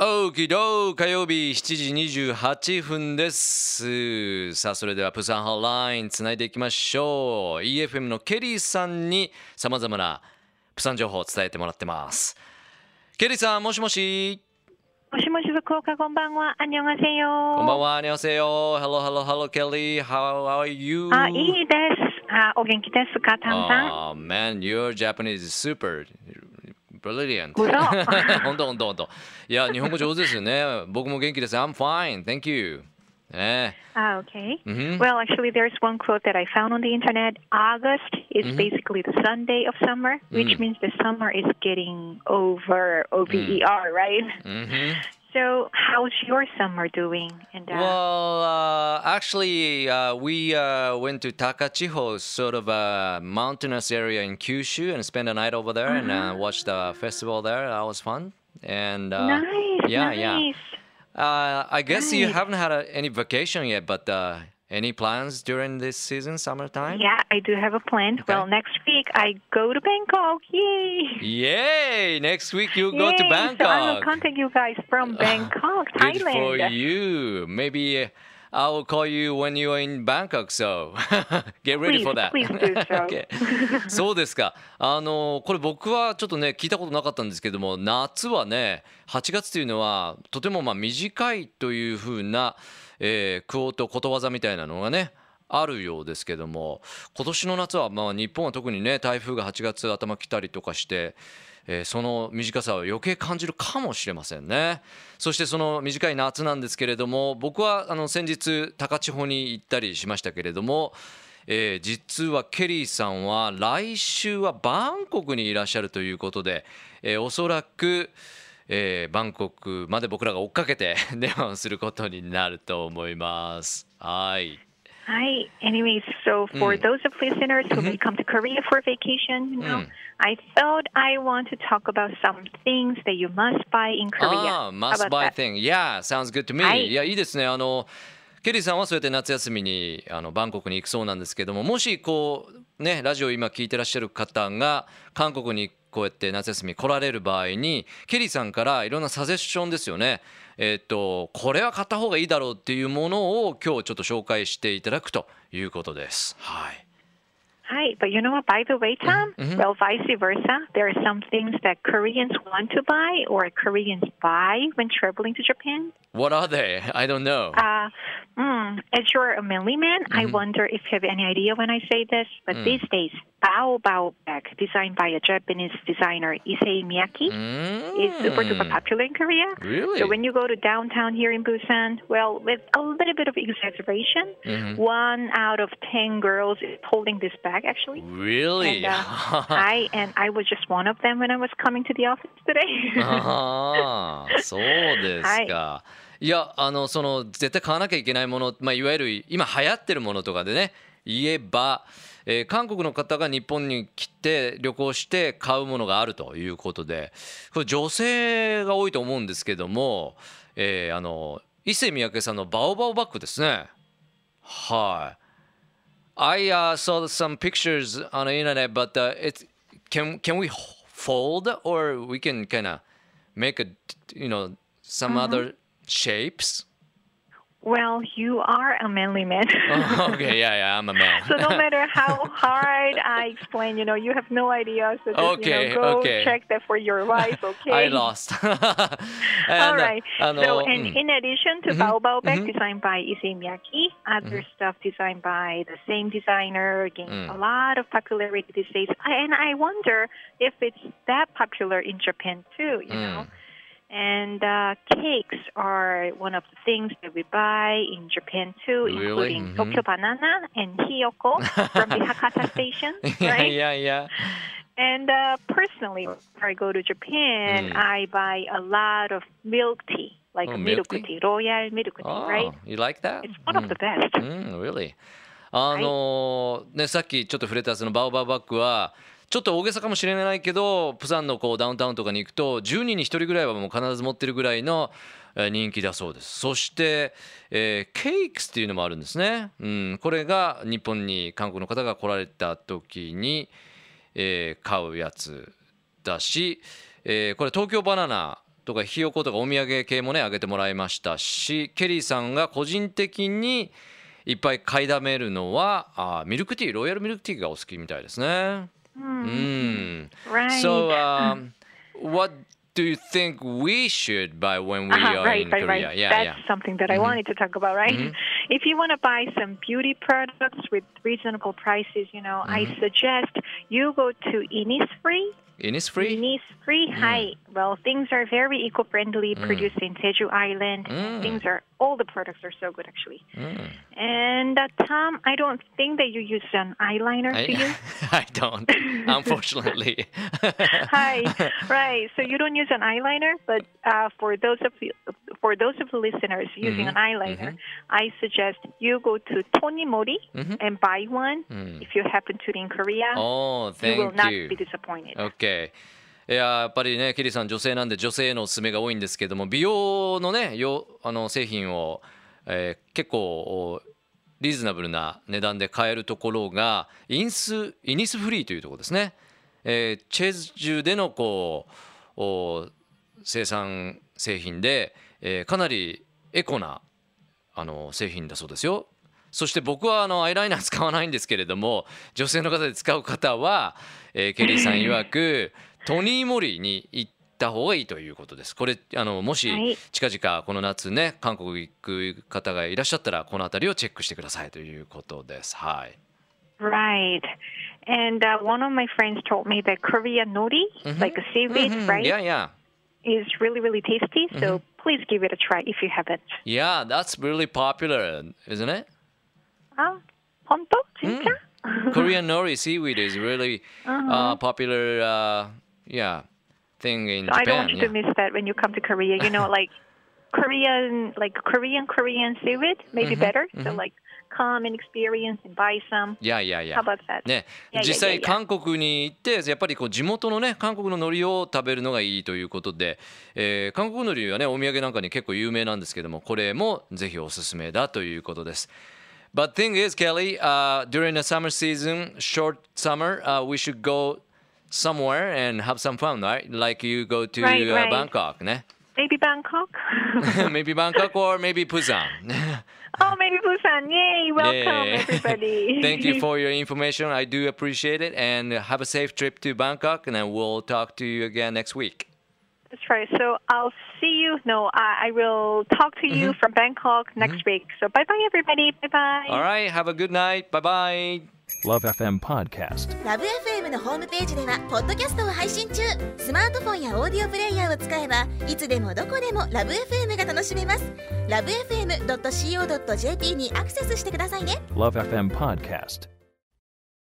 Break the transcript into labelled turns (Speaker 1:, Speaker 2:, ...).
Speaker 1: オーキドー火曜日7時28分です。さあそれではプサンハラインつないでいきましょう。 EFM のケリーさんにさまざまなプサン情報を伝えてもらってます。ケリーさん、もしもし。
Speaker 2: もしもし福岡、こんばんは。あんにょんがせよ。
Speaker 1: こんばんは。あにょんせよ。 Hello hello hello Kelly, how are you?
Speaker 2: いいです。お元気ですか、タンさん。
Speaker 1: Oh man, your Japanese is super brilliant.
Speaker 2: 嘘
Speaker 1: 本当本当本当。いや、日本語上手ですよね。僕も元気です。I'm fine, thank you.
Speaker 2: Okay. Well, actually, there's one quote that I found on the internet. August is basically the Sunday of summer, which means the summer is getting over, over, right? So, how's your summer doing? And
Speaker 1: Well, actually, we went to Takachiho, sort of a mountainous area in Kyushu, and spent a night over there and watched the festival there. That was fun. And
Speaker 2: nice,
Speaker 1: yeah,
Speaker 2: nice.
Speaker 1: yeah. I guess you
Speaker 2: Right.
Speaker 1: haven't had any vacation yet, but any plans during this season, summertime?
Speaker 2: Yeah, I do have a plan.
Speaker 1: Okay.
Speaker 2: Well, next week I go to Bangkok. Yay!
Speaker 1: Yay! Next week you go to
Speaker 2: Yay!
Speaker 1: Bangkok.
Speaker 2: So I will contact you guys from Bangkok,
Speaker 1: Good for
Speaker 2: Thailand.
Speaker 1: you. Maybe I will call you when you are in Bangkok, so get ready for that.
Speaker 2: Please do so.
Speaker 1: Okay. そうですか。これ僕はちょっとね聞いたことなかったんですけども、夏はね8月というのはとても短いというふうな、クオートことわざみたいなのがねあるようですけども、今年の夏は日本は特にね台風が8月頭来たりとかして、その短さを余計感じるかもしれませんね。そしてその短い夏なんですけれども、僕は先日高千穂に行ったりしましたけれども、実はケリーさんは来週はバンコクにいらっしゃるということで、おそらく、バンコクまで僕らが追っかけて電話をすることになると思います。はい。
Speaker 2: Hi. Anyways, so for those of listeners who may come to Korea for vacation, I thought I want to talk about some things that you must buy in Korea.
Speaker 1: Must buy thing. Yeah, sounds good to me.
Speaker 2: はい
Speaker 1: いや、いいですね。ケリーさんはそうやって夏休みにバンコクに行くそうなんですけども、もしこうねラジオ今聞いてらっしゃる方が韓国にこうやって夏休み来られる場合に、ケリーさんからいろんなサジェッションですよね。これは買った方がいいだろうっていうものを今日ちょっと紹介していただくということです。はい。
Speaker 2: Hi, but you know what? By the way, Tom, well, vice versa, there are some things that Koreans want to buy or Koreans buy when traveling to Japan.
Speaker 1: What are they? I don't know.
Speaker 2: As you're a manly man, I wonder if you have any idea when I say this, but these days, Bao Bao bag, designed by a Japanese designer, Issei Miyake, is super duper popular in Korea.
Speaker 1: Really?
Speaker 2: So when you go to downtown here in Busan, well, with a little bit of exaggeration, 1 out of 10 girls is holding this bag, actually.
Speaker 1: Really?
Speaker 2: And I was just one of them when I was coming to the office today.
Speaker 1: そうですか。いや、その絶対買わなきゃいけないもの、いわゆる今流行ってるものとかでね言えば、韓国の方が日本に来て旅行して買うものがあるということで、これ女性が多いと思うんですけども、伊勢三宅さんのバオバオバッグですね。はい。I saw some pictures on the internet, but it's can we fold or we can kind of make a some other shapes?
Speaker 2: Well, you are a manly man.
Speaker 1: Okay, yeah, I'm a man.
Speaker 2: So no matter how hard I explain, you have no idea. So just, go check that for your wife, okay?
Speaker 1: I lost.
Speaker 2: All right. So, and in addition to Bao Bao bag designed by Issei Miyake, other stuff designed by the same designer gained a lot of popularity these days. And I wonder if it's that popular in Japan too, And cakes are one of the things that we buy in Japan too, including Tokyo Banana and Hiyoko from the Hakata station, right?
Speaker 1: Yeah.
Speaker 2: And personally, when I go to Japan, I buy a lot of milk tea, like milk tea, royal milk tea, right?
Speaker 1: You like that?
Speaker 2: It's one of the best.
Speaker 1: Really? さっきちょっと触れたそのバオバオバッグはちょっと大げさかもしれないけど、プサンのダウンタウンとかに行くと10人に1人ぐらいはもう必ず持ってるぐらいの人気だそうです。そして、ケーキスっていうのもあるんですね。これが日本に韓国の方が来られた時に、買うやつだし、これ東京バナナとかひよことかお土産系もねあげてもらいましたし、ケリーさんが個人的にいっぱい買いだめるのはミルクティー、ロイヤルミルクティーがお好きみたいですね。
Speaker 2: Right.
Speaker 1: So, what do you think we should buy when we are in Korea?
Speaker 2: Right. That's something that I wanted to talk about, right? If you want to buy some beauty products with reasonable prices, I suggest you go to Innisfree.Innisfree? Hi. Well, things are very eco-friendly, produced in Jeju Island. All the products are so good, actually. And Tom, I don't think that you use an eyeliner, do you?
Speaker 1: I don't, unfortunately.
Speaker 2: Hi. Right. So you don't use an eyeliner, but for those of the listeners using an eyeliner, I suggest you go to Tonimori and buy one. If you happen to be in Korea, you will not be disappointed.
Speaker 1: やっぱりねケリーさん女性なんで女性へのおすすめが多いんですけども、美容のね製品を、結構リーズナブルな値段で買えるところがイニスフリーというところですね。チェジュでの生産製品で、かなりエコな製品だそうですよ。そして僕はアイライナー使わないんですけれども、女性の方で使う方は、ケリーさん曰くトニーモリーに行った方がいいということです。これもし近々この夏ね韓国行く方がいらっしゃったらこのあたりをチェックしてくださいということです。はい。
Speaker 2: Right. And one of my friends told me that Korean nori, like a seaweed, right?
Speaker 1: Yeah.
Speaker 2: Is really, really tasty. So please give it a try if you haven't.
Speaker 1: Yeah, that's really popular, isn't it?
Speaker 2: 本当？진짜?
Speaker 1: Korean nori seaweed is really popular, thing in Japan.
Speaker 2: I don't want you to miss that when you come to Korea. Like Korean seaweed, maybe better. So like come and experience and buy some.
Speaker 1: Yeah.
Speaker 2: How about that?
Speaker 1: ね、実際韓国に行ってやっぱり地元のね韓国の海苔を食べるのがいいということで、韓国海苔はねお土産なんかに結構有名なんですけども、これもぜひおすすめだということです。But thing is, Kelly, during the summer season, short summer, we should go somewhere and have some fun, right? Like you go to Bangkok, ne?
Speaker 2: Maybe Bangkok?
Speaker 1: Maybe Bangkok or maybe Busan.
Speaker 2: Maybe Busan. Yay, welcome everybody.
Speaker 1: Thank you for your information. I do appreciate it. And have a safe trip to Bangkok. And then we'll talk to you again next week.
Speaker 2: That's right. So I'll see you. No, I will talk to you from Bangkok next week. So bye-bye, everybody. Bye-bye.
Speaker 1: All right. Have a good night. Bye-bye.
Speaker 3: Love FM Podcast。
Speaker 4: ラブ FM のホームページではポッドキャストを配信中。スマートフォンやオーディオプレイヤーを使えばいつでもどこでもラブ FM が楽しめます。ラブ FM.co.jp にアクセスしてくださいね。
Speaker 3: Love FM Podcast。